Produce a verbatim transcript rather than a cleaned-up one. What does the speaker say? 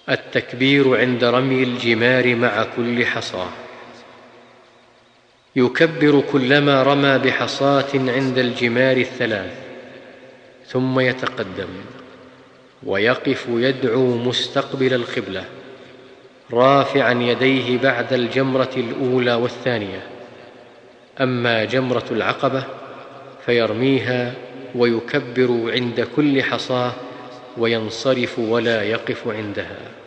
التكبير عند رمي الجمار مع كل حصاه. يكبر كلما رمى بحصاة عند الجمار الثلاث، ثم يتقدم ويقف يدعو مستقبل القبلة، رافعا يديه بعد الجمرة الأولى والثانية. أما جمرة العقبة فيرميها ويكبر عند كل حصاة وينصرف ولا يقف عندها.